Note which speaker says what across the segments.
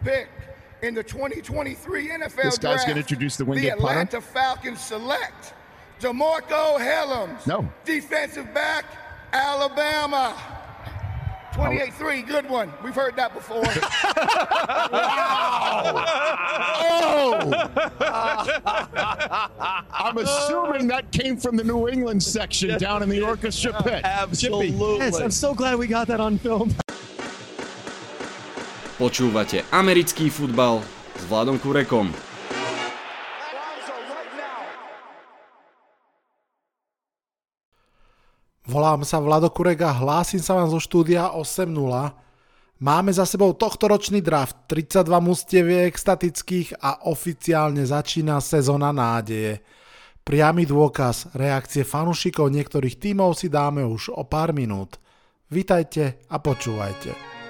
Speaker 1: pick in the 2023 NFL
Speaker 2: This guy's
Speaker 1: Draft,
Speaker 2: going to introduce the
Speaker 1: the
Speaker 2: winged
Speaker 1: Atlanta
Speaker 2: punter?
Speaker 1: Falcons select DeMarco Hellams,
Speaker 2: No.
Speaker 1: defensive back, Alabama. 28-3, good one. We've heard that before.
Speaker 2: I'm assuming that came from the New England section down in the orchestra pit.
Speaker 3: Absolutely.
Speaker 4: Yes, I'm so glad we got that on film.
Speaker 5: Počúvate americký futbal s Vladom Kurekom.
Speaker 6: Volám sa Vlado Kurek a hlásim sa vám zo štúdia 8.0. Máme za sebou tohtoročný draft, 32 mustieviek statických a oficiálne začína sezóna nádeje. Priamy dôkaz reakcie fanúšikov niektorých tímov si dáme už o pár minút. Vitajte a počúvajte.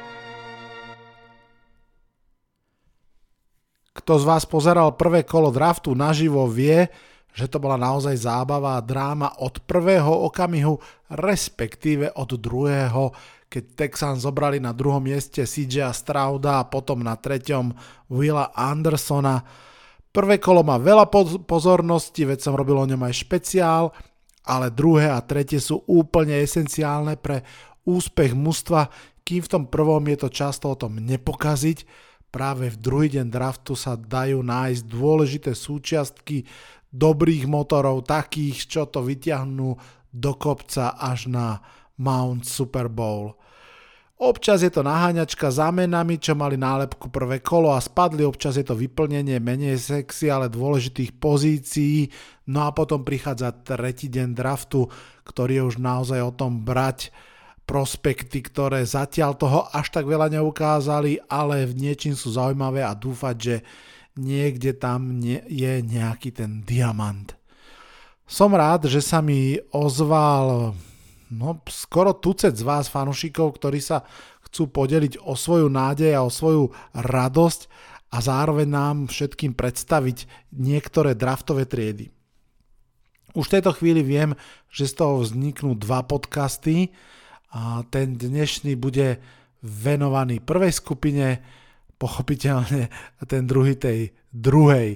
Speaker 6: Kto z vás pozeral prvé kolo draftu naživo vie, že to bola naozaj zábava a dráma od prvého okamihu, respektíve od druhého, keď Texans zobrali na druhom mieste CJ Strouda a potom na treťom Willa Andersona. Prvé kolo má veľa pozornosti, veď som robil o ňom aj špeciál, ale druhé a tretie sú úplne esenciálne pre úspech mužstva, kým v tom prvom je to často o tom nepokaziť. Práve v druhý deň draftu sa dajú nájsť dôležité súčiastky dobrých motorov, takých, čo to vyťahnú do kopca až na Mount Super Bowl. Občas je to naháňačka za menami, čo mali nálepku prvé kolo a spadli, občas je to vyplnenie menej sexy, ale dôležitých pozícií, no a potom prichádza tretí deň draftu, ktorý je už naozaj o tom brať prospekty, ktoré zatiaľ toho až tak veľa neukázali, ale v niečím sú zaujímavé a dúfať, že niekde tam je nejaký ten diamant. Som rád, že sa mi ozval skoro tucet z vás fanúšikov, ktorí sa chcú podeliť o svoju nádej a o svoju radosť a zároveň nám všetkým predstaviť niektoré draftové triedy. Už v tejto chvíli viem, že z toho vzniknú dva podcasty a ten dnešný bude venovaný prvej skupine, pochopiteľne ten druhý tej druhej.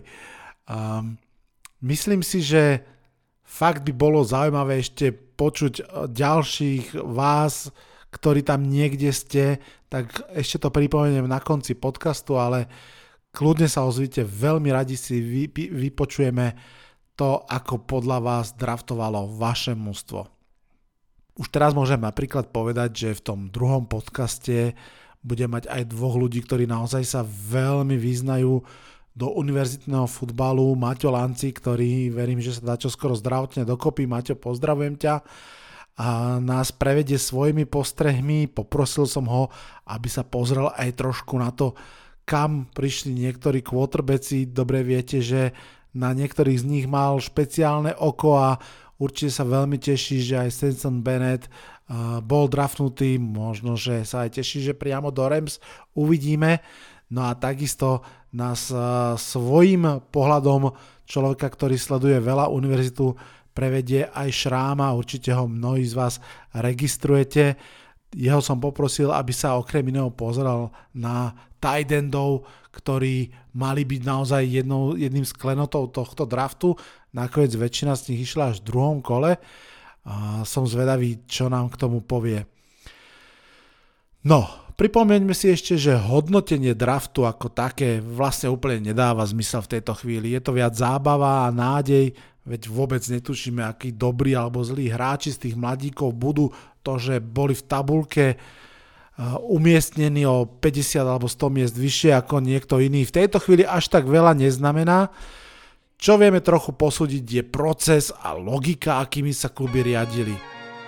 Speaker 6: Myslím si, že fakt by bolo zaujímavé ešte počuť ďalších vás, ktorí tam niekde ste, tak ešte to pripomeniem na konci podcastu, ale kľudne sa ozvite, veľmi radi si vypočujeme to, ako podľa vás draftovalo vaše mužstvo. Už teraz môžem napríklad povedať, že v tom druhom podcaste budem mať aj dvoch ľudí, ktorí naozaj sa veľmi vyznajú do univerzitného futbalu. Maťo Lanci, ktorý verím, že sa dá čoskoro zdravotne dokopy. Maťo, pozdravujem ťa a nás prevedie svojimi postrehmi. Poprosil som ho, aby sa pozrel aj trošku na to, kam prišli niektorí quarterbacki. Dobre viete, že na niektorých z nich mal špeciálne oko a určite sa veľmi teší, že aj Stetson Bennett bol draftnutý, možno, že sa aj teší, že priamo do Rams uvidíme. No a takisto nás svojím pohľadom človeka, ktorý sleduje veľa univerzitu, prevedie aj Šráma, určite ho mnohí z vás registrujete. Jeho som poprosil, aby sa okrem iného pozeral na tight endov, ktorí mali byť naozaj jedným z klenotov tohto draftu. Nakoniec väčšina z nich išla až v druhom kole. Som zvedavý, čo nám k tomu povie. No, pripomeňme si ešte, že hodnotenie draftu ako také vlastne úplne nedáva zmysel v tejto chvíli. Je to viac zábava a nádej, veď vôbec netušíme, akí dobrí alebo zlí hráči z tých mladíkov budú. To, že boli v tabulke umiestnení o 50 alebo 100 miest vyššie ako niekto iný, v tejto chvíli až tak veľa neznamená. Čo vieme trochu posúdiť je proces a logika, akými sa kluby riadili.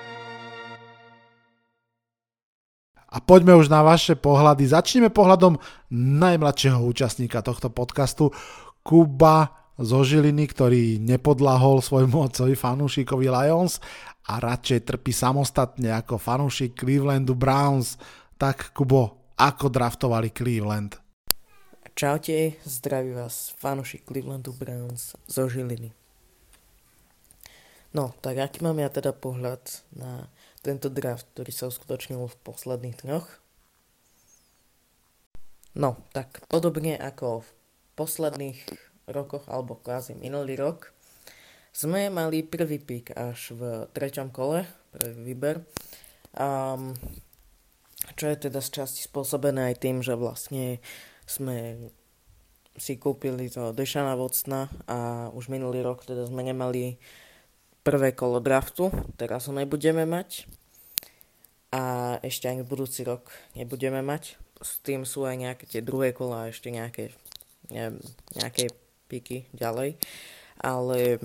Speaker 6: A poďme už na vaše pohľady. Začneme pohľadom najmladšieho účastníka tohto podcastu, Kuba zo Žiliny, ktorý nepodľahol svojmu otcovi fanúšikovi Lions a radšej trpí samostatne ako fanúšik Clevelandu Browns. Tak Kubo, ako draftovali Cleveland?
Speaker 7: Čaute, zdraví vás fanúšik Clevelandu Browns zo Žiliny. No, tak aký mám ja teda pohľad na tento draft, ktorý sa uskutočnil v posledných dňoch? No, tak podobne ako v posledných rokoch, alebo kvázi minulý rok, sme mali prvý pík až v treťom kole, prvý výber. Čo je teda z časti spôsobené aj tým, že vlastne sme si kúpili to Deshana Watsona a už minulý rok teda sme nemali prvé kolo draftu, teraz ho nebudeme mať a ešte ani budúci rok nebudeme mať. S tým sú aj nejaké tie druhé kola a ešte nejaké, neviem, nejaké píky ďalej, ale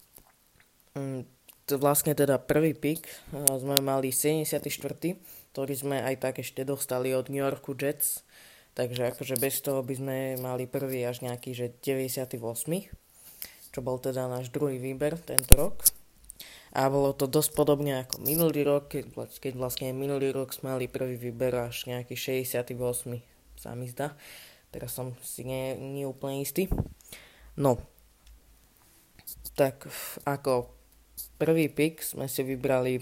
Speaker 7: vlastne teda prvý pík sme mali 74., ktorý sme aj tak ešte dostali od New Yorku Jets, takže akože bez toho by sme mali prvý až nejaký, že 98., čo bol teda náš druhý výber tento rok. A bolo to dosť podobne ako minulý rok, keď vlastne minulý rok sme mali prvý výber až nejaký 68., sa mi zdá. Teraz som si nie úplne istý. No, tak ako prvý pick sme si vybrali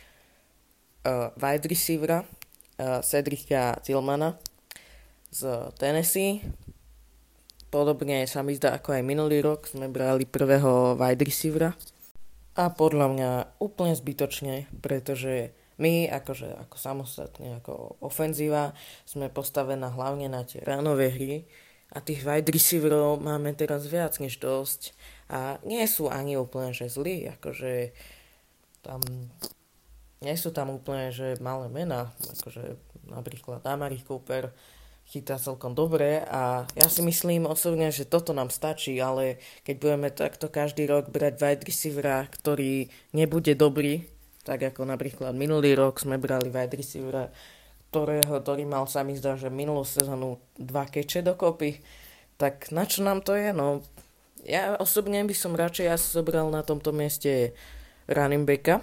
Speaker 7: wide receivera Cedricka Tillmana z Tennessee. Podobne sa mi zdá ako aj minulý rok sme brali prvého wide receivera. A podľa mňa úplne zbytočne, pretože my ako samostatne, ako ofenzíva sme postavená hlavne na tie ránové hry a tých wide receiverov máme teraz viac než dosť a nie sú ani úplne že zlí, akože tam nie sú tam úplne že malé mená, akože napríklad Amari Cooper chytá celkom dobre a ja si myslím osobne, že toto nám stačí, ale keď budeme takto každý rok brať wide receivera, ktorý nebude dobrý, tak ako napríklad minulý rok sme brali wide receivera, ktorý mal, sa mi zdá, že minulú sezónu 2 keče dokopy, tak na čo nám to je? No, ja osobne by som radšej asi zobral na tomto mieste running backa.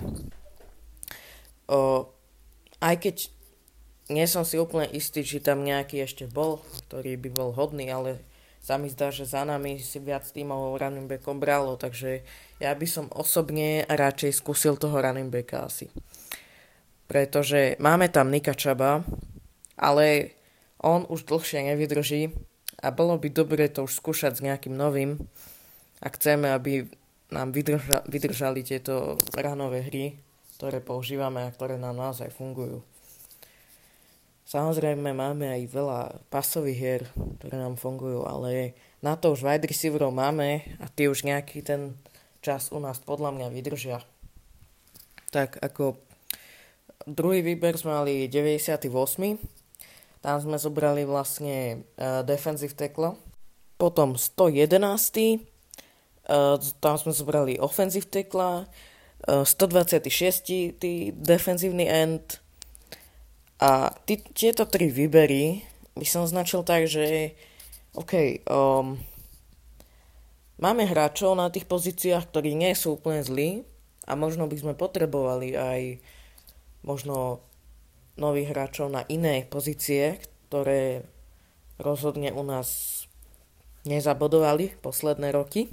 Speaker 7: Aj keď nie som si úplne istý, či tam nejaký ešte bol, ktorý by bol hodný, ale sa mi zdá, že za nami si viac tímov running backom bralo, takže ja by som osobne radšej skúsil toho running backa asi. Pretože máme tam Nicka Chuba, ale on už dlhšie nevydrží a bolo by dobre to už skúšať s nejakým novým a chceme, aby nám vydržali tieto ranové hry, ktoré používame a ktoré nám naozaj fungujú. Samozrejme máme aj veľa pasových hier, ktoré nám fungujú, ale na to už wide receiverov máme a tie už nejaký ten čas u nás podľa mňa vydržia. Tak ako druhý výber sme mali 98. Tam sme zobrali vlastne defensive tackle. Potom 111. Tam sme zobrali offensive tackle. 126. defenzívny end. A tieto tri výbery by som označil tak, že máme hráčov na tých pozíciách, ktorí nie sú úplne zlí a možno by sme potrebovali aj možno nových hráčov na iné pozície, ktoré rozhodne u nás nezabodovali posledné roky.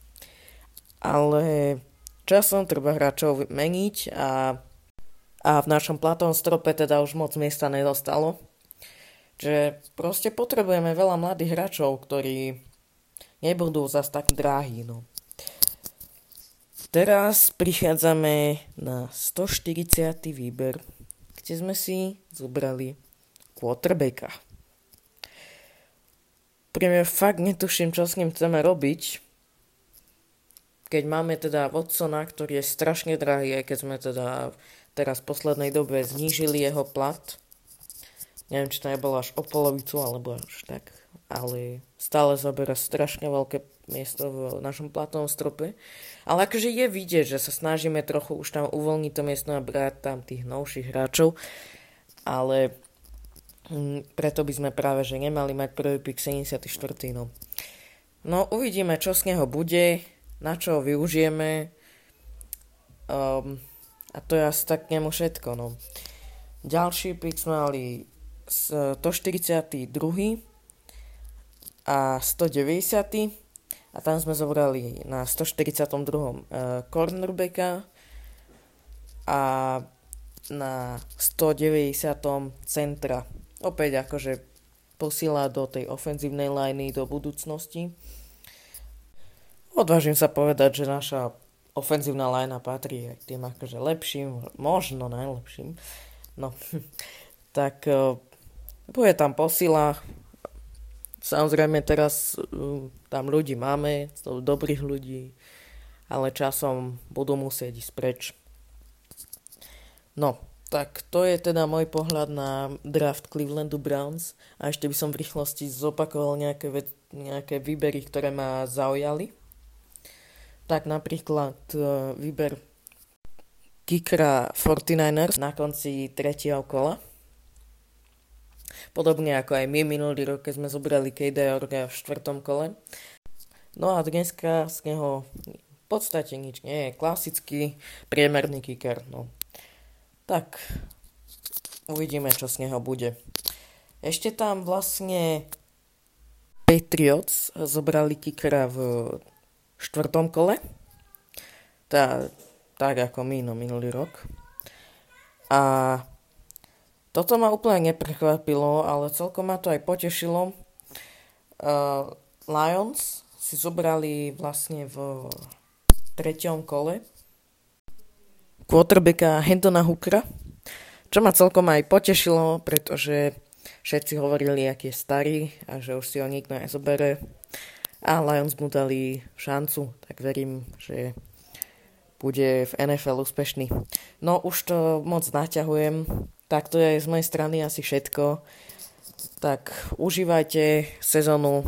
Speaker 7: Ale časom treba hráčov meniť a v našom platovom strope teda už moc miesta nedostalo. Že proste potrebujeme veľa mladých hráčov, ktorí nebudú zas tak drahí. No. Teraz prichádzame na 140. výber, kde sme si zobrali quarterbacka. Príjme fakt netuším, čo s ním chceme robiť, keď máme teda Watsona, ktorý je strašne drahý, aj keď sme teda teraz v poslednej dobe znížili jeho plat. Neviem, či to nebolo až o polovicu, alebo až tak, ale stále zabera strašne veľké miesto v našom platovom strope. Ale akože je vidieť, že sa snažíme trochu už tam uvoľniť to miesto a brať tam tých novších hráčov, ale preto by sme práve že nemali mať prvý pick 74. No uvidíme, čo z neho bude, na čo ho využijeme a to je asi tak k nemu všetko. No. Ďalší pick sme mali 142. a 190. A tam sme zobrali na 142. cornerbacka a na 190. centra. Opäť akože posiela do tej ofenzívnej liney do budúcnosti. Odvážim sa povedať, že naša ofenzívna linea patrí aj k tým akože lepším, možno najlepším. No, tak bude tam posila. Samozrejme teraz tam ľudí máme, sú dobrých ľudí, ale časom budú musieť ísť preč. No, tak to je teda môj pohľad na draft Clevelandu Browns a ešte by som v rýchlosti zopakoval nejaké výbery, ktoré ma zaujali. Tak napríklad výber kickera 49ers na konci 3. kola. Podobne ako aj my minulý rok, keď sme zobrali KD Orga v 4. kole. No a dneska z neho v podstate nič nie je. Klasický priemerný kicker, no. Tak, uvidíme, čo z neho bude. Ešte tam vlastne Patriots zobrali kickera v 4. kole. Tak ako my, minulý rok. A toto ma úplne neprekvapilo, ale celkom ma to aj potešilo. Lions si zobrali vlastne v 3. kole quarterbacka Hendona Hookera, čo ma celkom aj potešilo, pretože všetci hovorili, aký je starý a že už si ho nikto nezobere. A Lions mu dali šancu, tak verím, že bude v NFL úspešný. No už to moc naťahujem, tak to je z mojej strany asi všetko. Tak užívajte sezónu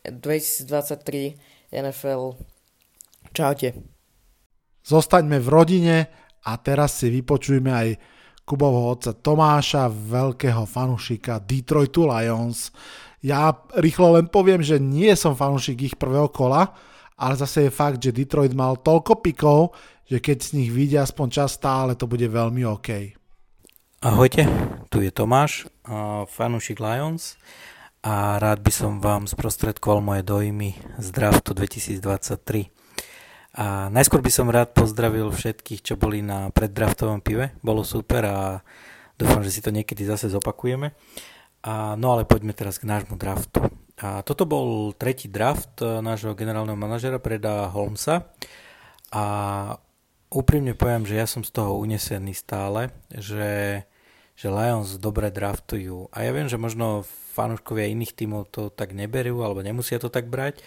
Speaker 7: 2023 NFL. Čaute.
Speaker 6: Zostaňme v rodine a teraz si vypočujme aj Kubovho otca Tomáša, veľkého fanúšika Detroitu Lions. Ja rýchlo len poviem, že nie som fanúšik ich prvého kola, ale zase je fakt, že Detroit mal toľko pikov, že keď z nich vyjde aspoň čas stále, to bude veľmi OK.
Speaker 3: Ahojte, tu je Tomáš, fanúšik Lions a rád by som vám sprostredkoval moje dojmy z draftu 2023. A najskôr by som rád pozdravil všetkých, čo boli na preddraftovom pive. Bolo super a dúfam, že si to niekedy zase zopakujeme. No ale poďme teraz k nášmu draftu. A toto bol 3. draft nášho generálneho manažera Breda Holmesa. A úprimne poviem, že ja som z toho unesený stále, že Lions dobre draftujú. A ja viem, že možno fanúškovia iných tímov to tak neberú alebo nemusia to tak brať.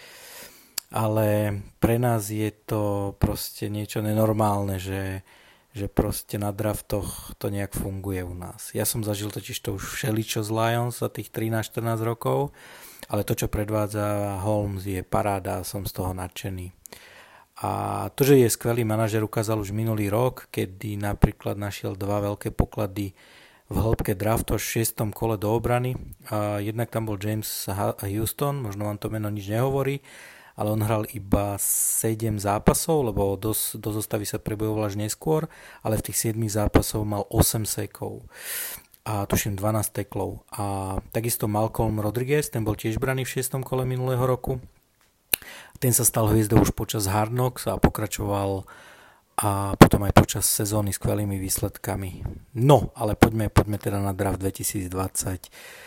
Speaker 3: Ale pre nás je to proste niečo nenormálne, že proste na draftoch to nejak funguje u nás. Ja som zažil totiž to už všeličo z Lions za tých 13-14 rokov, ale to, čo predvádza Holmes, je paráda a som z toho nadšený. A to, že je skvelý manažer, ukázal už minulý rok, kedy napríklad našiel 2 veľké poklady v hĺbke draftu až v 6. kole do obrany. Jednak tam bol James Houston, možno vám to meno nič nehovorí, ale on hral iba 7 zápasov, lebo do zostavy sa prebojoval až neskôr, ale v tých 7 zápasov mal 8 sekov a tuším 12 teklov. A takisto Malcolm Rodriguez, ten bol tiež braný v 6. kole minulého roku. Ten sa stal hviezdou už počas Hard Knocks a pokračoval a potom aj počas sezóny skvelými výsledkami. No, ale poďme teda na draft 2023.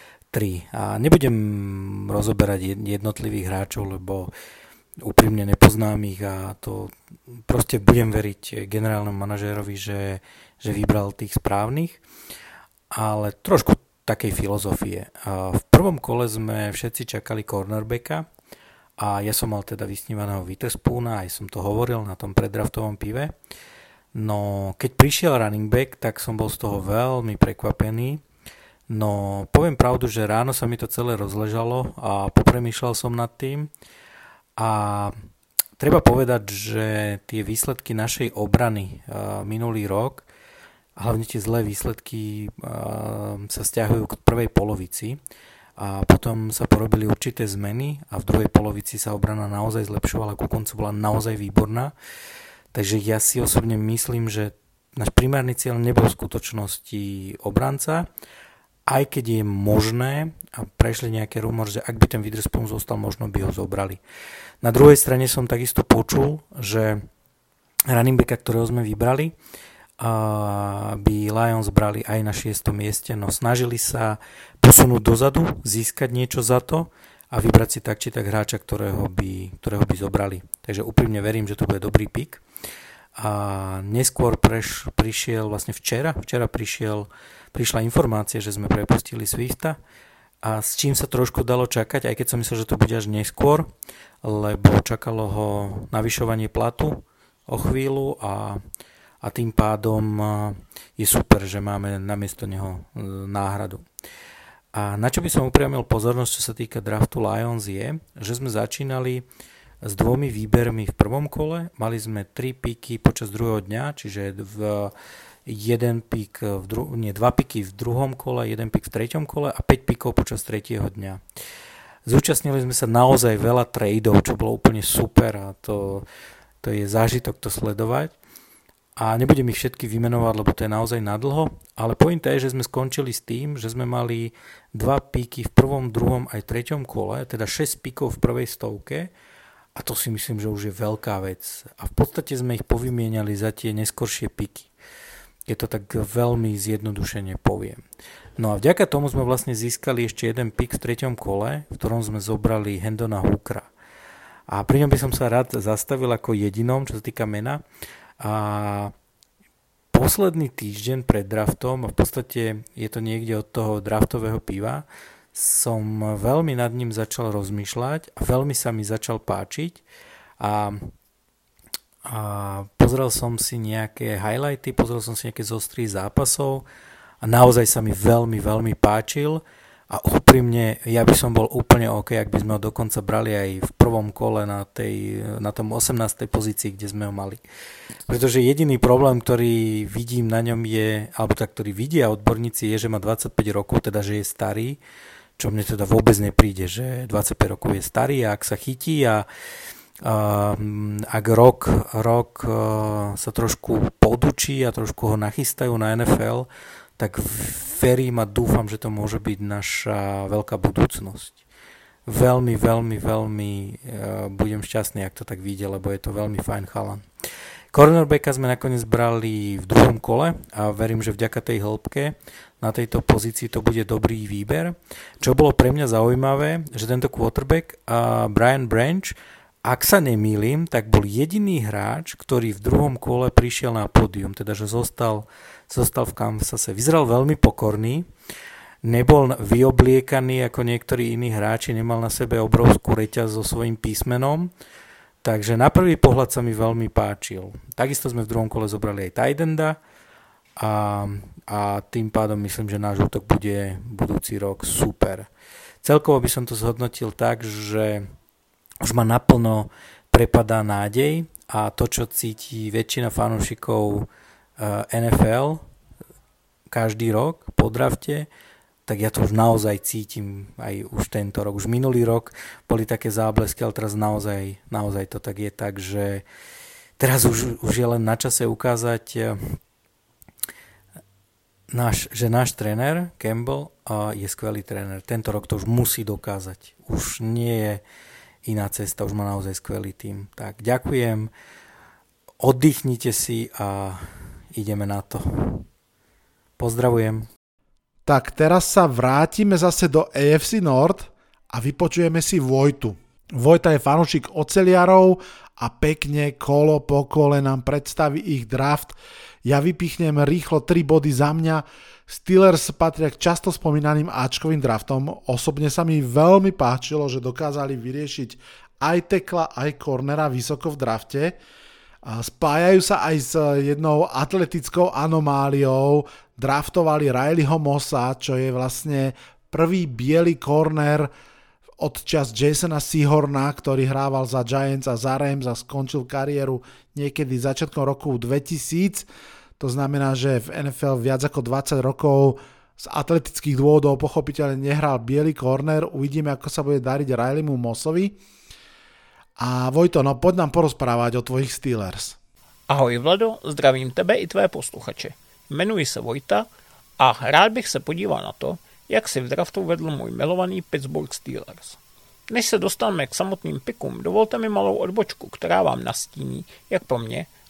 Speaker 3: A nebudem rozoberať jednotlivých hráčov, lebo úprimne nepoznám ich a to proste budem veriť generálnemu manažérovi, že vybral tých správnych, ale trošku takej filozofie. V prvom kole sme všetci čakali cornerbacka a ja som mal teda vysnívaného Witherspoona, aj som to hovoril na tom preddraftovom pive. No keď prišiel running back, tak som bol z toho veľmi prekvapený. No, poviem pravdu, že ráno sa mi to celé rozležalo a popremýšľal som nad tým a treba povedať, že tie výsledky našej obrany minulý rok, hlavne tie zlé výsledky sa stiahujú k prvej polovici a potom sa porobili určité zmeny a v druhej polovici sa obrana naozaj zlepšovala, ku koncu bola naozaj výborná, takže ja si osobne myslím, že náš primárny cieľ nebol v skutočnosti obranca, aj keď je možné, a prešli nejaké rumor, že ak by ten Witherspoon zostal, možno by ho zobrali. Na druhej strane som takisto počul, že running backa, ktorého sme vybrali, aby Lions brali aj na 6. mieste, no snažili sa posunúť dozadu, získať niečo za to a vybrať si tak či tak hráča, ktorého by zobrali. Takže úprimne verím, že to bude dobrý pick. A neskôr prišiel vlastne včera prišla informácia, že sme prepustili Swifta a s čím sa trošku dalo čakať, aj keď som myslel, že to bude až neskôr, lebo čakalo ho navyšovanie platu o chvíľu a tým pádom je super, že máme namiesto neho náhradu. A na čo by som upriamil pozornosť, čo sa týka draftu Lions je, že sme začínali s 2 výbermi v prvom kole, mali sme 3 piky počas druhého dňa, čiže 2 piky v druhom kole, 1 pik v treťom kole a 5 pikov počas tretieho dňa. Zúčastnili sme sa naozaj veľa tradeov, čo bolo úplne super a to je zážitok to sledovať. A nebudem ich všetky vymenovať, lebo to je naozaj nadlho, ale pointa je, že sme skončili s tým, že sme mali 2 píky v prvom, druhom aj treťom kole, teda 6 píkov v prvej stovke a to si myslím, že už je veľká vec. A v podstate sme ich povymieniali za tie neskoršie píky. Je to tak veľmi zjednodušene poviem. No a vďaka tomu sme vlastne získali ešte 1 pík v treťom kole, v ktorom sme zobrali Hendona Hookera. A pri ňom by som sa rád zastavil ako jedinom, čo sa týka mena. A posledný týždeň pred draftom, a v podstate je to niekde od toho draftového piva, som veľmi nad ním začal rozmýšľať a veľmi sa mi začal páčiť a pozrel som si nejaké highlighty, pozrel som si nejaké zostry zápasov a naozaj sa mi veľmi, veľmi páčil. A úprimne, ja by som bol úplne OK, ak by sme ho dokonca brali aj v prvom kole na tom 18. pozícii, kde sme ho mali. Pretože jediný problém, ktorý vidím na ňom je, alebo tak, ktorý vidia odborníci, je, že má 25 rokov, teda že je starý, čo mne teda vôbec nepríde, že 25 rokov je starý a ak sa chytí a ak rok sa trošku podučí a trošku ho nachystajú na NFL, tak verím a dúfam, že to môže byť naša veľká budúcnosť. Veľmi, veľmi, veľmi budem šťastný, ak to tak vyjde, lebo je to veľmi fajn chalan. Cornerbacka sme nakoniec brali v druhom kole a verím, že vďaka tej hĺbke na tejto pozícii to bude dobrý výber. Čo bolo pre mňa zaujímavé, že tento quarterback Brian Branch, ak sa nemýlim, tak bol jediný hráč, ktorý v druhom kole prišiel na pódium, teda že zostal v Kansase. Vyzeral veľmi pokorný, nebol vyobliekaný ako niektorí iní hráči, nemal na sebe obrovskú reťaz so svojím písmenom, takže na prvý pohľad sa mi veľmi páčil. Takisto sme v druhom kole zobrali aj tight enda a tým pádom myslím, že náš útok bude budúci rok super. Celkovo by som to zhodnotil tak, že už ma naplno prepadá nádej a to, čo cíti väčšina fanúšikov NFL každý rok po drafte, tak ja to už naozaj cítim aj už tento rok. Už minulý rok boli také záblesky, ale teraz naozaj to tak je tak, že teraz už je len na čase ukázať, že náš tréner Campbell je skvelý tréner. Tento rok to už musí dokázať. Už nie je iná cesta, už má naozaj skvelý tím. Tak ďakujem, oddychnite si a ideme na to. Pozdravujem.
Speaker 6: Tak teraz sa vrátime zase do AFC North a vypočujeme si Vojtu. Vojta je fanúšik oceliarov a pekne kolo po kole nám predstaví ich draft. Ja vypichnem rýchlo 3 body za mňa. Steelers patria k často spomínaným áčkovým draftom. Osobne sa mi veľmi páčilo, že dokázali vyriešiť aj tekla, aj cornera vysoko v drafte. Spájajú sa aj s jednou atletickou anomáliou. Draftovali Rileyho Mossa, čo je vlastne prvý biely corner od čas Jasona Sehorna, ktorý hrával za Giants a za Rams a skončil kariéru niekedy začiatkom roku 2000. To znamená, že v NFL viac ako 20 rokov z atletických dôvodov pochopiteľne nehral biely corner. Uvidíme, ako sa bude dariť Rileymu Mossovi. A Vojto, no poď nám porozprávať o tvojich Steelers.
Speaker 8: Ahoj Vlado, zdravím tebe i tvé posluchače. Jmenuji se Vojta a rád bych se podíval na to, jak si v draftu vedl můj milovaný Pittsburgh Steelers. Než se dostaneme k samotným pikům, dovolte mi malou odbočku, která vám nastíní, jak pro mě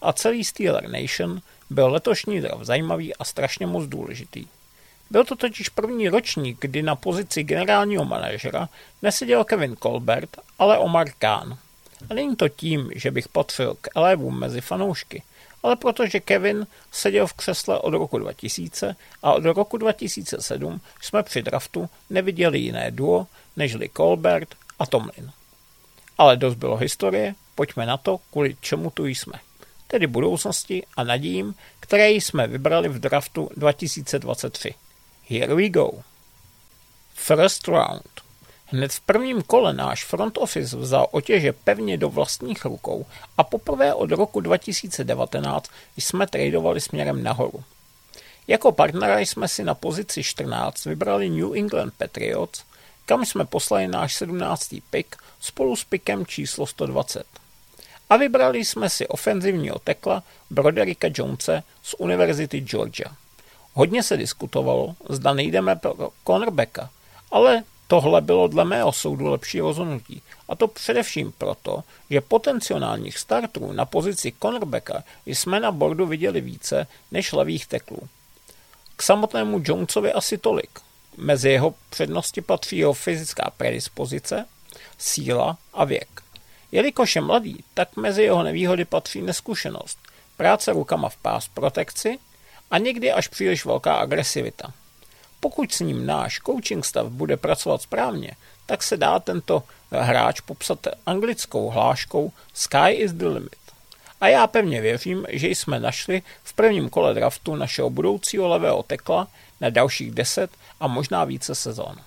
Speaker 8: a celý Steeler Nation byl letošní draft zajímavý a strašně moc důležitý. Byl to totiž první ročník, kdy na pozici generálního manažera neseděl Kevin Colbert, ale Omar Khan. A není to tím, že bych patřil k elevům mezi fanoušky, ale protože Kevin seděl v křesle od roku 2000 a od roku 2007 jsme při draftu neviděli jiné duo, nežli Colbert a Tomlin. Ale dost bylo historie, pojďme na to, kvůli čemu tu jsme. Tedy budoucnosti a nadějím, které jsme vybrali v draftu 2023. Here we go. First round. Hned v prvním kole náš front office vzal otěže pevně do vlastních rukou a poprvé od roku 2019 jsme tradovali směrem nahoru. Jako partnera jsme si na pozici 14 vybrali New England Patriots, kam jsme poslali náš 17. pick spolu s pickem číslo 120. A vybrali jsme si ofenzivního tekla Brodericka Jonese z Univerzity Georgia. Hodně se diskutovalo, zda nejdeme pro cornerbacka, ale tohle bylo dle mého soudu lepší rozhodnutí. A to především proto, že potenciálních starterů na pozici cornerbacka jsme na bordu viděli více než levých teklů. K samotnému Jonesovi asi tolik. Mezi jeho přednosti patří jeho fyzická predispozice, síla a věk. Jelikož je mladý, tak mezi jeho nevýhody patří neskušenost, práce rukama v pass protekci a někdy až příliš velká agresivita. Pokud s ním náš coaching stav bude pracovat správně, tak se dá tento hráč popsat anglickou hláškou Sky is the limit. A já pevně věřím, že jsme našli v prvním kole draftu našeho budoucího levého tekla na dalších 10 a možná více sezon.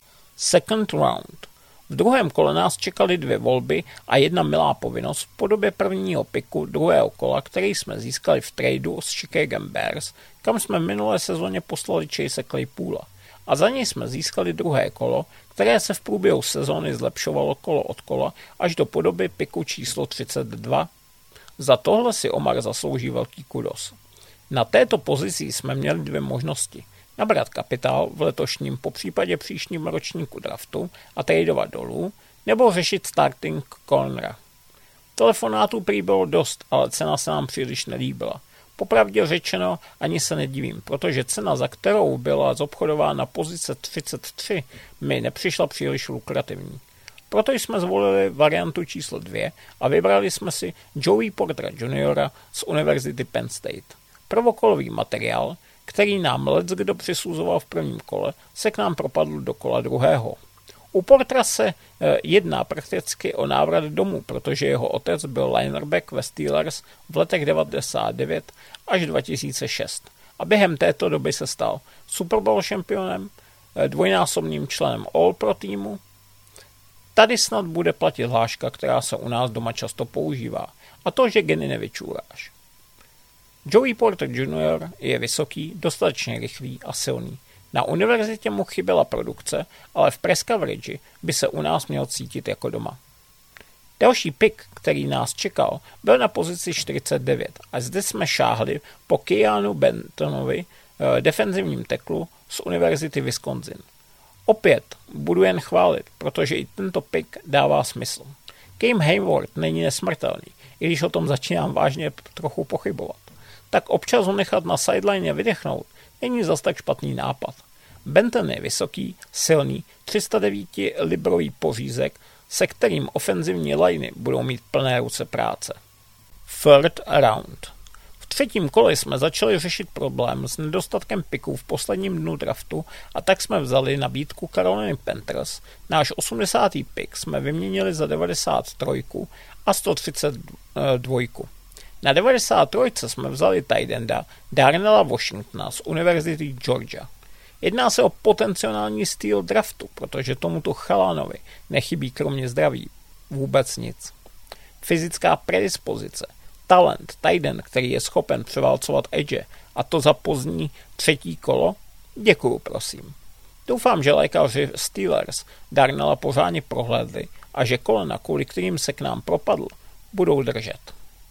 Speaker 8: Second round. V druhém kole nás čekaly 2 volby a jedna milá povinnost v podobě prvního piku druhého kola, který jsme získali v tradu s Chicago Bears, kam jsme v minulé sezóně poslali Chase Claypoola. A za něj jsme získali druhé kolo, které se v průběhu sezóny zlepšovalo kolo od kola až do podoby piku číslo 32. Za tohle si Omar zaslouží velký kudos. Na této pozici jsme měli 2 možnosti. Nabrat kapitál v letošním, popřípadě příštím ročníku draftu a tradovat dolů, nebo řešit starting cornera. Telefonátů prý bylo dost, ale cena se nám příliš nelíbila. Popravdě řečeno ani se nedivím, protože cena, za kterou byla zobchodována pozice 33, mi nepřišla příliš lukrativní. Proto jsme zvolili variantu číslo 2 a vybrali jsme si Joey Portera Jr. z Univerzity Penn State. Prvokolový materiál, který nám leckdo přisuzoval v prvním kole, se k nám propadl do kola druhého. U Portera se jedná prakticky o návrat domů, protože jeho otec byl lineback ve Steelers v letech 1999 až 2006 a během této doby se stal Super Bowl šampionem, dvojnásobným členem All-Pro týmu. Tady snad bude platit hláška, která se u nás doma často používá, a to, že geny nevyčůráš. Joey Porter Jr. je vysoký, dostatečně rychlý a silný. Na univerzitě mu chyběla produkce, ale v press coverage by se u nás měl cítit jako doma. Další pick, který nás čekal, byl na pozici 49 a zde jsme šáhli po Keanu Bentonovi, defenzivním teklu z Univerzity Wisconsin. Opět budu jen chválit, protože i tento pick dává smysl. Cam Hayward není nesmrtelný, i když o tom začínám vážně trochu pochybovat. Tak občas ho nechat na sideline vydechnout není zas tak špatný nápad. Benton je vysoký, silný, 309-librový pořízek, se kterým ofenzivní liney budou mít plné ruce práce. Third round. V třetím kole jsme začali řešit problém s nedostatkem piků v posledním dnu draftu a tak jsme vzali nabídku Carolina Panthers. Náš 80. pik jsme vyměnili za 93 a 132. Na 93 jsme vzali tight enda Darnella Washingtona z Univerzity Georgia. Jedná se o potenciální styl draftu, protože tomuto chalánovi nechybí kromě zdraví vůbec nic. Fyzická predispozice, talent, tight end, který je schopen převálcovat edge, a to za pozdní 3. kolo? Děkuju, prosím. Doufám, že lékaři Steelers Darnella pořádně prohlédli a že kolena, kvůli kterým se k nám propadl, budou držet.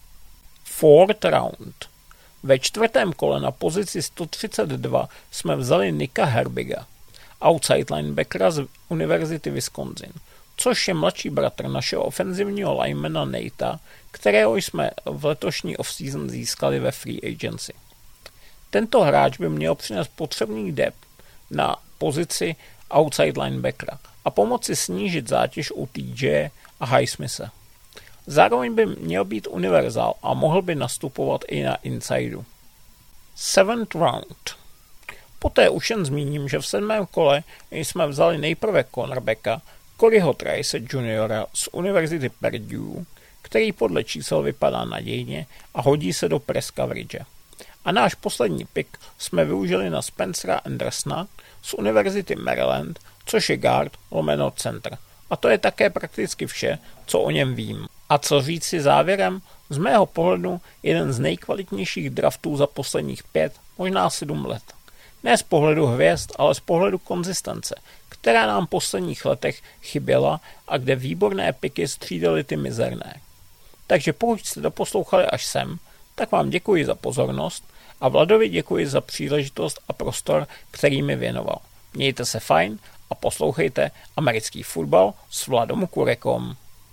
Speaker 8: Fourth round. Ve 4. kole na pozici 132 jsme vzali Nicka Herbiga, outside linebackera z Univerzity Wisconsin. což je mladší bratr našeho ofenzivního linemana Natea, kterého jsme v letošní off-season získali ve free agency. Tento hráč by měl přinést potřebný depth na pozici outside linebackera a pomoci snížit zátěž u TJ a Highsmitha. Zároveň by měl být univerzál a mohl by nastupovat i na insideu. 7th round. Poté už jen zmíním, že v 7. kole jsme vzali nejprve cornerbacka Coreyho Trice Jr. z Univerzity Purdue, který podle čísel vypadá nadějně a hodí se do press coverage. A náš poslední pick jsme využili na Spencera Andersona z Univerzity Maryland, což je guard lomeno center. A to je také prakticky vše, co o něm vím. A co říci závěrem? Z mého pohledu jeden z nejkvalitnějších draftů za posledních 5, možná 7 let. Ne z pohledu hvězd, ale z pohledu konzistence, která nám v posledních letech chyběla a kde výborné piky střídaly ty mizerné. Takže pokud jste doposlouchali až sem, tak vám děkuji za pozornost a Vladovi děkuji za příležitost a prostor, který mi věnoval. Mějte se fajn a poslouchejte americký fotbal s Vladom Kurekom.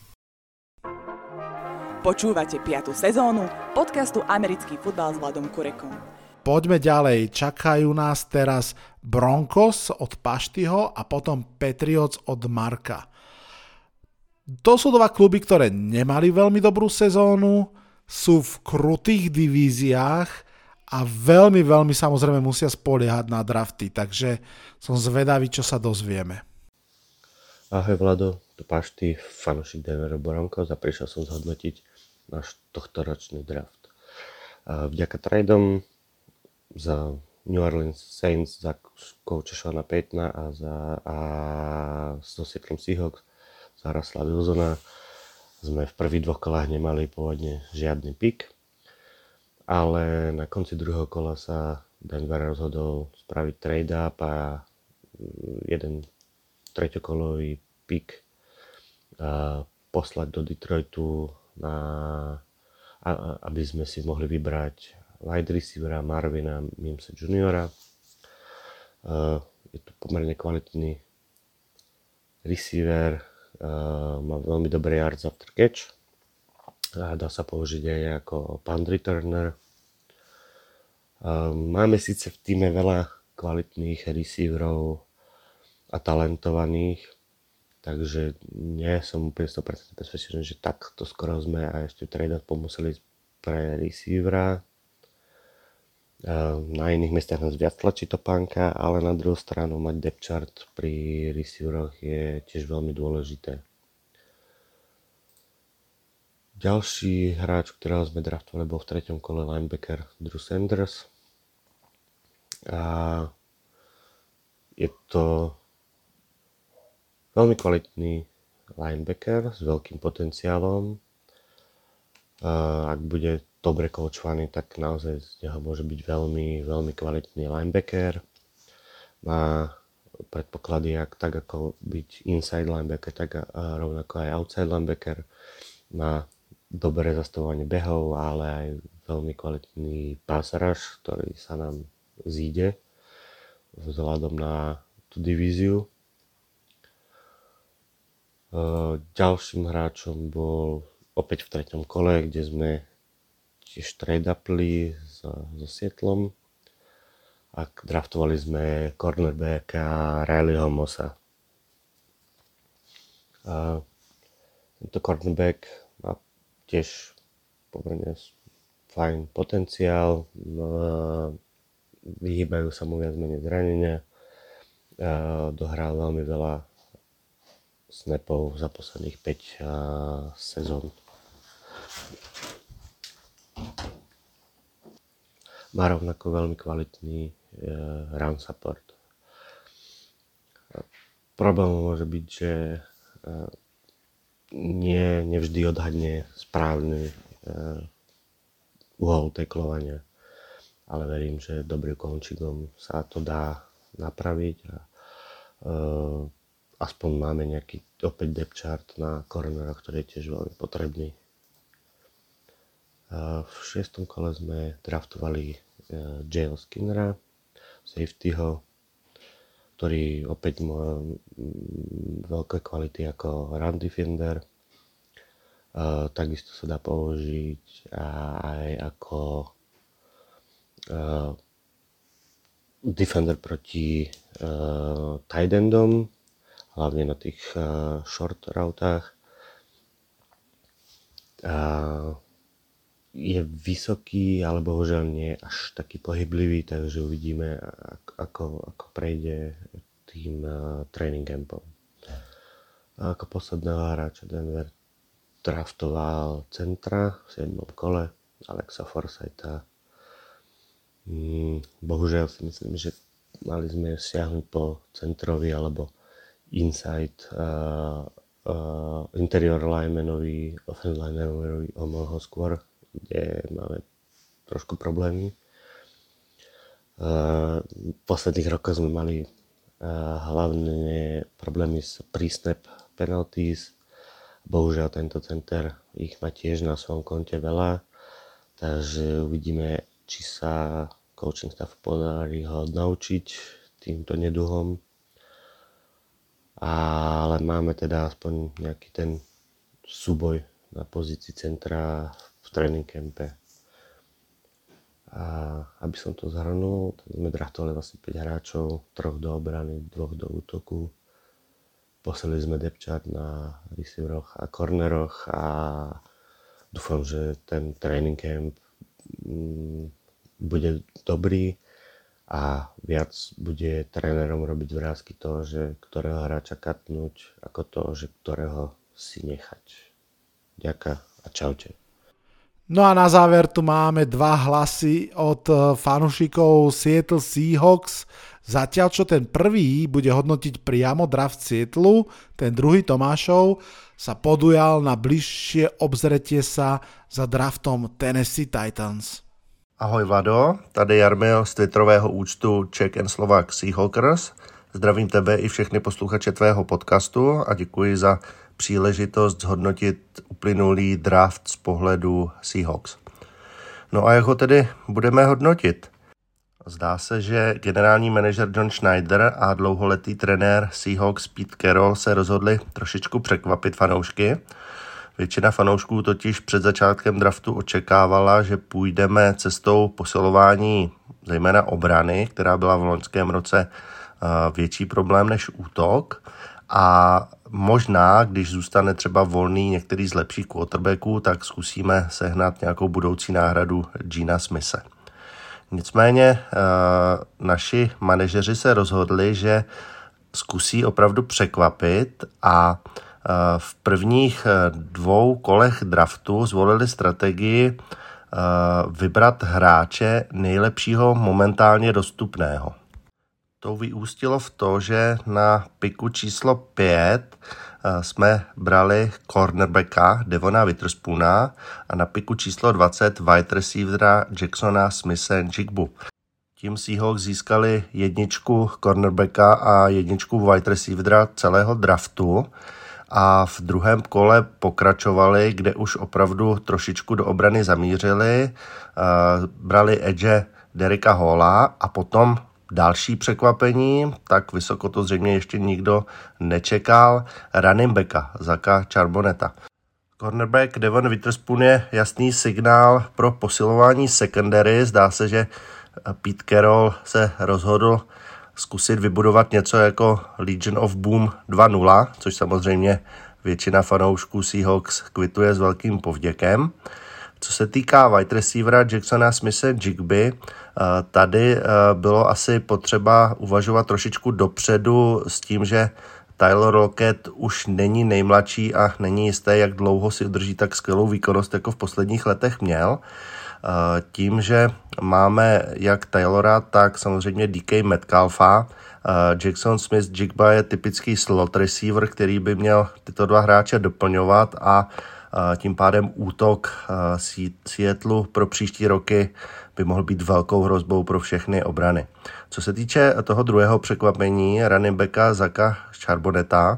Speaker 9: Počúvate 5. sezónu podcastu Americký futbal s Vladom Kurekom.
Speaker 6: Poďme ďalej. Čakajú nás teraz Broncos od Paštyho a potom Patriots od Marka. To sú dva kluby, ktoré nemali veľmi dobrú sezónu, sú v krutých divíziách a veľmi samozrejme musia spoliehať na drafty, takže som zvedavý, čo sa dozvieme.
Speaker 10: Ahoj Vlado, tu Pašty, fanúšik Denver Broncos a prišiel som zhodnotiť náš tohtoročný draft. Vďaka tradeom za New Orleans Saints, za kouča Seana Paytona a so Seattle Seahawks za Russella Wilsona sme v prvých 2 kolách nemali pôvodne žiadny pick, ale na konci druhého kola sa Denver rozhodol spraviť trade-up a jeden treťokolový pick poslať do Detroitu, aby sme si mohli vybrať wide receivera Marvina Mimsa Jr. Je to pomerne kvalitný receiver, má veľmi dobrý yards after catch, dá sa použiť aj ako punt returner. Máme síce v týme veľa kvalitných receiverov a talentovaných, takže nie som úplne 100% presvedčený, že takto skoro sme a ešte trade pomuseli pre receivera. Na iných miestach nás viac tlačí topánka, ale na druhú stranu mať depth chart pri receiveroch je tiež veľmi dôležité. Ďalší hráč, ktorého sme draftovali, bol v 3. kole linebacker Drew Sanders. A je to veľmi kvalitný linebacker s veľkým potenciálom. Ak bude dobre koučovaný, tak naozaj z neho môže byť veľmi kvalitný linebacker. Má predpoklady tak ako byť inside linebacker, tak rovnako aj outside linebacker. Má dobré zastavovanie behov, ale aj veľmi kvalitný pass rush, ktorý sa nám zíde vzhľadom na tú divíziu. Ďalším hráčom bol opäť v 3. kole, kde sme tiež trade-upli so Seattlom a draftovali sme cornerbacka Rileyho Mossa. Tento cornerback má tiež pomerne fajn potenciál, vyhýbajú sa mu viac menej zranenia, dohral veľmi veľa snapov za posledných 5 sezón. Má rovnako veľmi kvalitný run support. Problém môže byť, že nevždy odhadne správny uhol tacklovania, ale verím, že dobrým končíkom sa to dá napraviť a aspoň máme nejaký opäť depth chart na cornera, ktorý je tiež veľmi potrebný. V 6. kole sme draftovali J.L. Skinnera, safetyho, ktorý opäť má veľké kvality ako run defender. Takisto sa dá použiť aj ako defender proti tight endom, hlavne na tých short routách. Je vysoký, ale bohužiaľ nie až taký pohyblivý, takže uvidíme, ako prejde tým training campom. A ako posledného hráča Denver draftoval centra v 7. kole Alexa Forsytha. Bohužiaľ si myslím, že mali sme siahnuť po centrovi alebo inside interior linemanovi, offensive linemanovi o mnoho skôr, kde máme trošku problémy. V posledných rokoch sme mali hlavne problémy s pre-snap penalties. Bohužiaľ tento center ich má tiež na svojom konte veľa, takže uvidíme, či sa coaching staff podarí ho naučiť týmto neduhom. Ale máme teda aspoň nejaký ten súboj na pozícii centra v training campe. A aby som to zhrnul, sme draftovali vlastne 5 hráčov, 3 do obrany, 2 do útoku. Poslali sme depth chart na receiveroch a corneroch a dúfam, že ten training camp bude dobrý a viac bude trénerom robiť vrásky toho, že ktorého hráča katnúť, ako to, že ktorého si nechať. Ďakujem a čaute.
Speaker 6: No a na záver tu máme 2 hlasy od fanúšikov Seattle Seahawks. Zatiaľ čo ten prvý bude hodnotiť priamo draft Seattleu, ten druhý Tomášov sa podujal na bližšie obzretie sa za draftom Tennessee Titans.
Speaker 11: Ahoj Vlado, tady Jarmil z twitterového účtu Czech and Slovak Seahawkers. Zdravím tebe i všechny posluchače tvého podcastu a děkuji za příležitost zhodnotit uplynulý draft z pohledu Seahawks. No a jak ho tedy budeme hodnotit? Zdá se, že generální manažer John Schneider a dlouholetý trenér Seahawks Pete Carroll se rozhodli trošičku překvapit fanoušky. Většina fanoušků totiž před začátkem draftu očekávala, že půjdeme cestou posilování zejména obrany, která byla v loňském roce větší problém než útok. A možná, když zůstane třeba volný některý z lepších quarterbacků, tak zkusíme sehnat nějakou budoucí náhradu Gina Smithe. Nicméně naši manažeři se rozhodli, že zkusí opravdu překvapit a v prvních 2 kolech draftu zvolili strategii vybrat hráče nejlepšího momentálně dostupného. To vyústilo v to, že na piku číslo 5 jsme brali cornerbacka Devona Witherspoona a na piku číslo 20 wide receivera Jacksona Smith-Njigbu. Tím Seahawks získali 1 cornerbacka a 1 wide receivera celého draftu a v druhém kole pokračovali, kde už opravdu trošičku do obrany zamířili, brali edge Derricka Halla a potom další překvapení, tak vysoko to zřejmě ještě nikdo nečekal, running backa Zacka Charbonneta. Cornerback Devon Witherspoon je jasný signál pro posilování secondary. Zdá se, že Pete Carroll se rozhodl zkusit vybudovat něco jako Legion of Boom 2.0, což samozřejmě většina fanoušků Seahawks kvituje s velkým povděkem. Co se týká wide receivera Jacksona Smithe-Njigby, tady bylo asi potřeba uvažovat trošičku dopředu s tím, že Tyler Lockett už není nejmladší a není jisté, jak dlouho si udrží tak skvělou výkonnost, jako v posledních letech měl. Tím, že máme jak Taylora, tak samozřejmě DK Metcalfa, Jackson Smith-Njigba je typický slot receiver, který by měl tyto 2 hráče doplňovat a tím pádem útok Seattleu pro příští roky by mohl být velkou hrozbou pro všechny obrany. Co se týče toho druhého překvapení, running backa Zacka Charbonneta,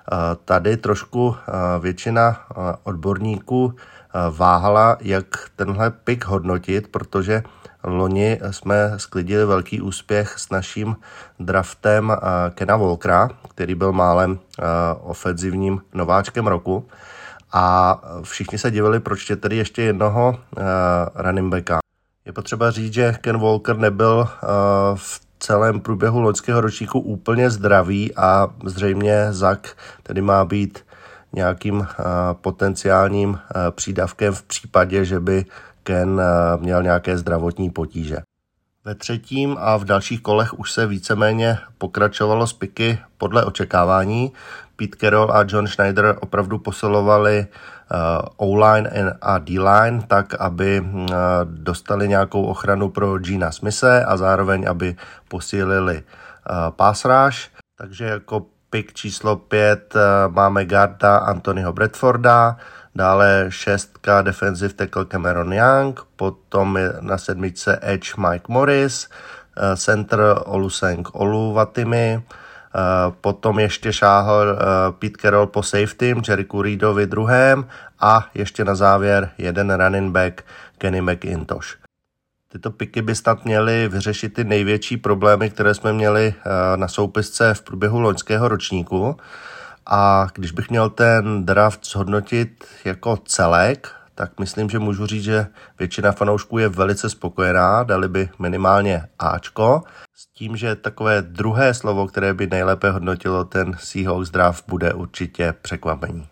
Speaker 11: Tady trošku většina odborníků váhala, jak tenhle pick hodnotit, protože loni jsme sklidili velký úspěch s naším draftem Kena Walkera, který byl málem ofenzivním nováčkem roku. A všichni se divili, proč je tedy ještě jednoho running backa. Je potřeba říct, že Ken Walker nebyl v celém průběhu loňského ročníku úplně zdravý a zřejmě Zach tedy má být nějakým potenciálním přídavkem v případě, že by Ken měl nějaké zdravotní potíže. Ve třetím a v dalších kolech už se víceméně pokračovalo s piky podle očekávání. Pete Carroll a John Schneider opravdu posilovali O-line a D-line tak, aby dostali nějakou ochranu pro Gina Smithe a zároveň, aby posílili pass rush. Takže jako pick číslo 5 máme guarda Anthonyho Bradforda, dále 6 defensive tackle Cameron Young, potom je na 7 edge Mike Morris, center Oluseng Oluwatimi, potom ještě šáhl Pete Carroll po safety Jerichu Reedovi druhém a ještě na závěr jeden running back Kenny McIntosh. Tyto piky by snad měly vyřešit ty největší problémy, které jsme měli na soupisce v průběhu loňského ročníku. A když bych měl ten draft zhodnotit jako celek, tak myslím, že můžu říct, že většina fanoušků je velice spokojená, dali by minimálně Ačko, s tím, že takové druhé slovo, které by nejlépe hodnotilo ten Seahawks draft, bude určitě překvapení.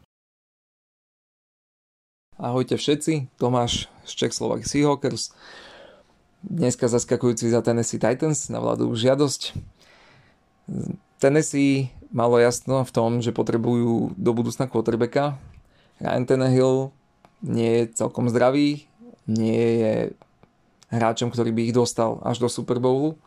Speaker 12: Ahojte všetci, Tomáš z Czechoslovak Seahawkers. Dneska zaskakujúci za Tennessee Titans na vládu žiadosť. Tennessee malo jasno v tom, že potrebujú do budúcna quarterbacka. Ryan Tannehill nie je celkom zdravý, nie je hráčom, ktorý by ich dostal až do Super Bowlu.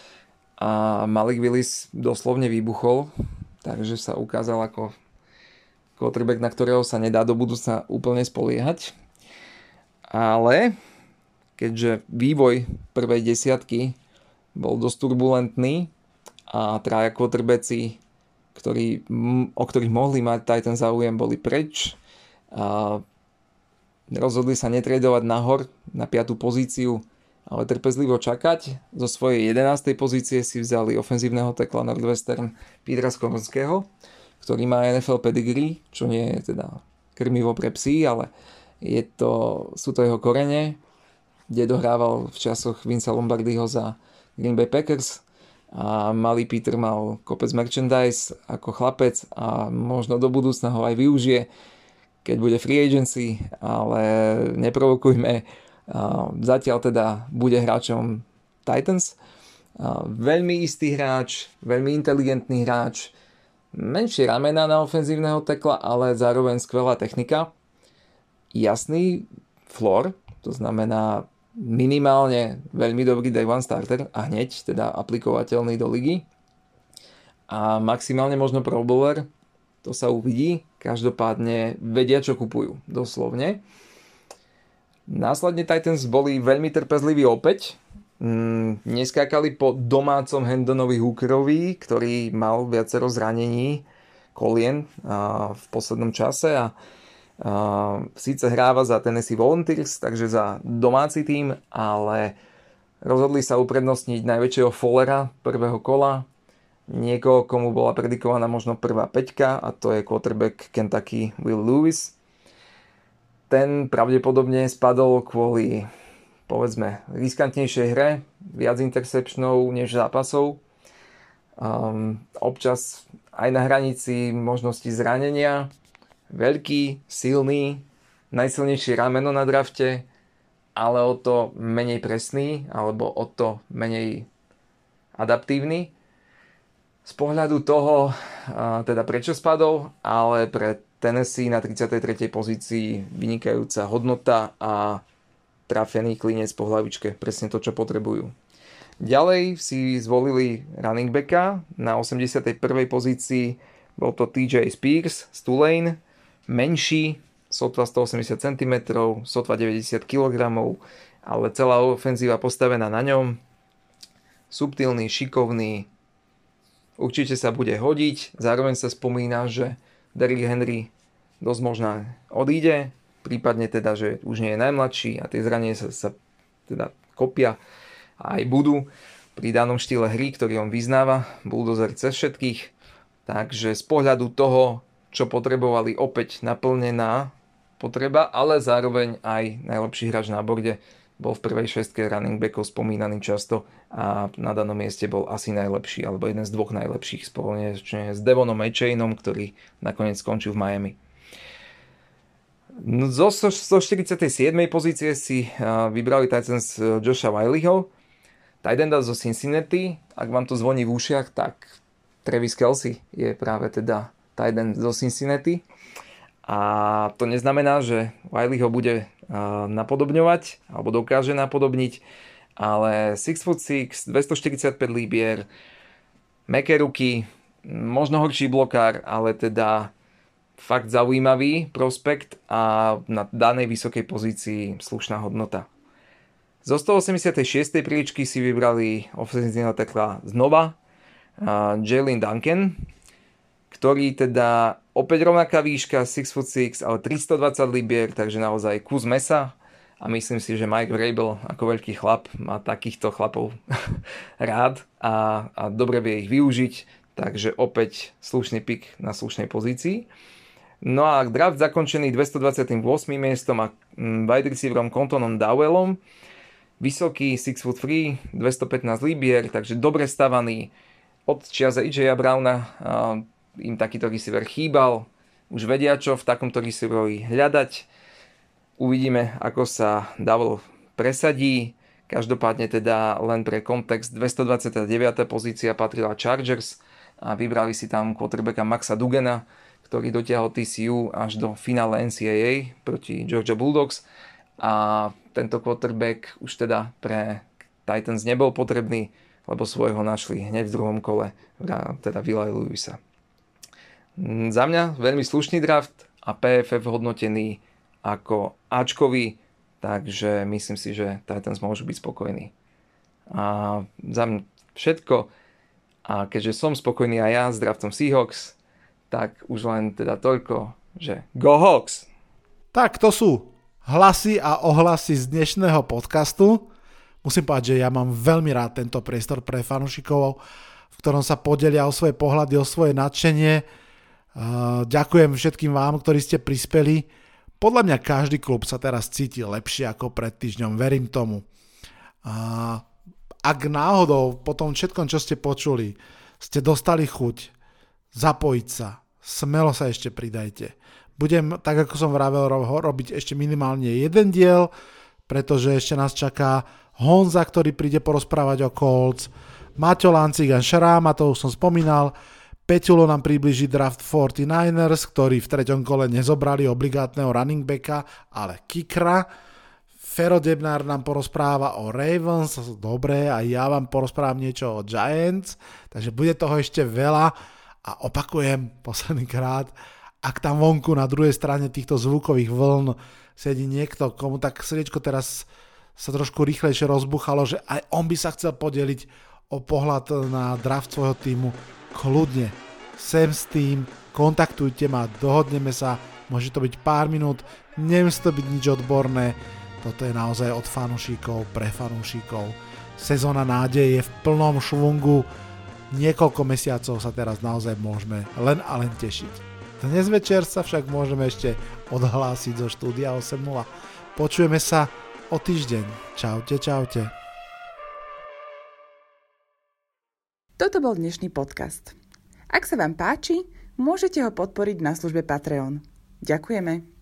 Speaker 12: A Malik Willis doslovne vybuchol, takže sa ukázal ako quarterback, na ktorého sa nedá do budúcna úplne spoliehať. Ale keďže vývoj prvej desiatky bol dosť turbulentný a traja quarterbacki, o ktorých mohli mať Titan záujem, boli preč a rozhodli sa netradovať nahor na 5. pozíciu, ale trpezlivo čakať. Zo svojej 11. pozície si vzali ofenzívneho tekla Northwestern Petra Skornského, ktorý má NFL pedigree, čo nie je teda krmivo pre psy, ale sú to jeho korene, kde dohrával v časoch Vinca Lombardiho za Green Bay Packers a malý Peter mal kopec merchandise ako chlapec a možno do budúcna ho aj využije, keď bude free agency, ale neprovokujme. Zatiaľ teda bude hráčom Titans. Veľmi istý hráč, veľmi inteligentný hráč, menšie ramena na ofenzívneho tekla, ale zároveň skvelá technika. Jasný floor, to znamená minimálne veľmi dobrý day one starter a hneď teda aplikovateľný do ligy. A maximálne možno Pro Bowler, to sa uvidí. Každopádne vedia, čo kupujú, doslovne. Následne Titans boli veľmi trpezliví opäť. Neskákali po domácom Hendonovi Hookerovi, ktorý mal viacero zranení kolien v poslednom čase a síce hráva za Tennessee Volunteers, takže za domáci tím, ale rozhodli sa uprednostniť najväčšieho fallera prvého kola, niekoho, komu bola predikovaná možno prvá peťka, a to je quarterback Kentucky Will Lewis. Ten pravdepodobne spadol kvôli, povedzme, riskantnejšej hre, viac interceptionov než zápasov, občas aj na hranici možnosti zranenia. Veľký, silný, najsilnejšie rameno na drafte, ale o to menej presný, alebo o to menej adaptívny. Z pohľadu toho, teda prečo spadol, ale pre Tennessee na 33. pozícii vynikajúca hodnota a trafený klinec po hlavičke, presne to, čo potrebujú. Ďalej si zvolili running backa, na 81. pozícii bol to TJ Spears z Tulane, menší, sotva 180 cm, sotva 90 kg, ale celá ofenzíva postavená na ňom. Subtilný, šikovný, určite sa bude hodiť. Zároveň sa spomína, že Derrick Henry dosť možná odíde, prípadne teda, že už nie je najmladší a tie zranenia sa teda kopia a aj budú pri danom štýle hry, ktorý on vyznáva, bulldozer cez všetkých. Takže z pohľadu toho, čo potrebovali, opäť naplnená potreba, ale zároveň aj najlepší hráč na borde, bol v prvej šestke running backov spomínaný často a na danom mieste bol asi najlepší, alebo jeden z dvoch najlepších spoločne s Devonom Achainom, ktorý nakoniec skončil v Miami. No, zo 47. pozície si vybrali Titans Josha Wileyho, tight enda zo Cincinnati. Ak vám to zvoní v ušiach, tak Travis Kelce je práve teda tight end zo Cincinnati. A to neznamená, že Wiley ho bude napodobňovať, alebo dokáže napodobniť, ale 6'6", 245 libier, mäkké ruky, možno horší blokár, ale teda fakt zaujímavý prospekt a na danej vysokej pozícii slušná hodnota. Zo 186. príličky si vybrali ofenzívneho tekla znova Jalen Duncan, ktorý teda opäť rovnaká výška, 6'6", ale 320 libier, takže naozaj kus mesa. A myslím si, že Mike Vrabel ako veľký chlap má takýchto chlapov rád a dobre vie ich využiť. Takže opäť slušný pick na slušnej pozícii. No a draft zakončený 228. miestom a wide receiverom Contonom Dowellom. Vysoký, 6'3", 215 libier, takže dobre stavaný. Od čias AJ Browna im takýto receiver chýbal. Už vedia, čo v takomto receiverovi hľadať. Uvidíme, ako sa Dowell presadí. Každopádne teda len pre kontext 229. pozícia patrila Chargers a vybrali si tam quarterbacka Maxa Dugana, ktorý dotiahol TCU až do finále NCAA proti Georgia Bulldogs. A tento quarterback už teda pre Titans nebol potrebný, lebo svojho našli hneď v druhom kole, teda Willa Lewisa. Za mňa veľmi slušný draft a PFF hodnotený ako Ačkový, takže myslím si, že Titans môžu byť spokojní. A za mňa všetko. A keďže som spokojný aj ja s draftom Seahawks, tak už len teda toľko, že Go Hawks!
Speaker 6: Tak to sú hlasy a ohlasy z dnešného podcastu. Musím povedať, že ja mám veľmi rád tento priestor pre fanúšikov, v ktorom sa podelia o svoje pohľady, o svoje nadšenie. Ďakujem všetkým vám, ktorí ste prispeli. Podľa mňa každý klub sa teraz cíti lepšie ako pred týždňom, verím tomu. Ak náhodou po tom všetkom, čo ste počuli, ste dostali chuť zapojiť sa, smelo sa ešte pridajte. Budem, tak ako som vravel, robiť ešte minimálne jeden diel, pretože ešte nás čaká Honza, ktorý príde porozprávať o Colts, Maťo Lancigan Šráma, to už som spomínal, Peťulo nám približí draft 49ers, ktorí v treťom kole nezobrali obligátneho running backa, ale kickera. Fero Debnár nám porozpráva o Ravens, dobre, a ja vám porozprávam niečo o Giants, takže bude toho ešte veľa a opakujem posledný krát, ak tam vonku na druhej strane týchto zvukových vln sedí niekto, komu tak srdiečko teraz sa trošku rýchlejšie rozbuchalo, že aj on by sa chcel podeliť o pohľad na draft svojho týmu, kľudne, sem s tým, kontaktujte ma, dohodneme sa, môže to byť pár minút, nemusí to byť nič odborné, toto je naozaj od fanúšikov, pre fanúšikov. Sezóna nádeje je v plnom švungu, niekoľko mesiacov sa teraz naozaj môžeme len a len tešiť. Dnes večer sa však môžeme ešte odhlásiť zo štúdia 8.0. Počujeme sa o týždeň. Čaute, čaute.
Speaker 9: Toto bol dnešný podcast. Ak sa vám páči, môžete ho podporiť na službe Patreon. Ďakujeme.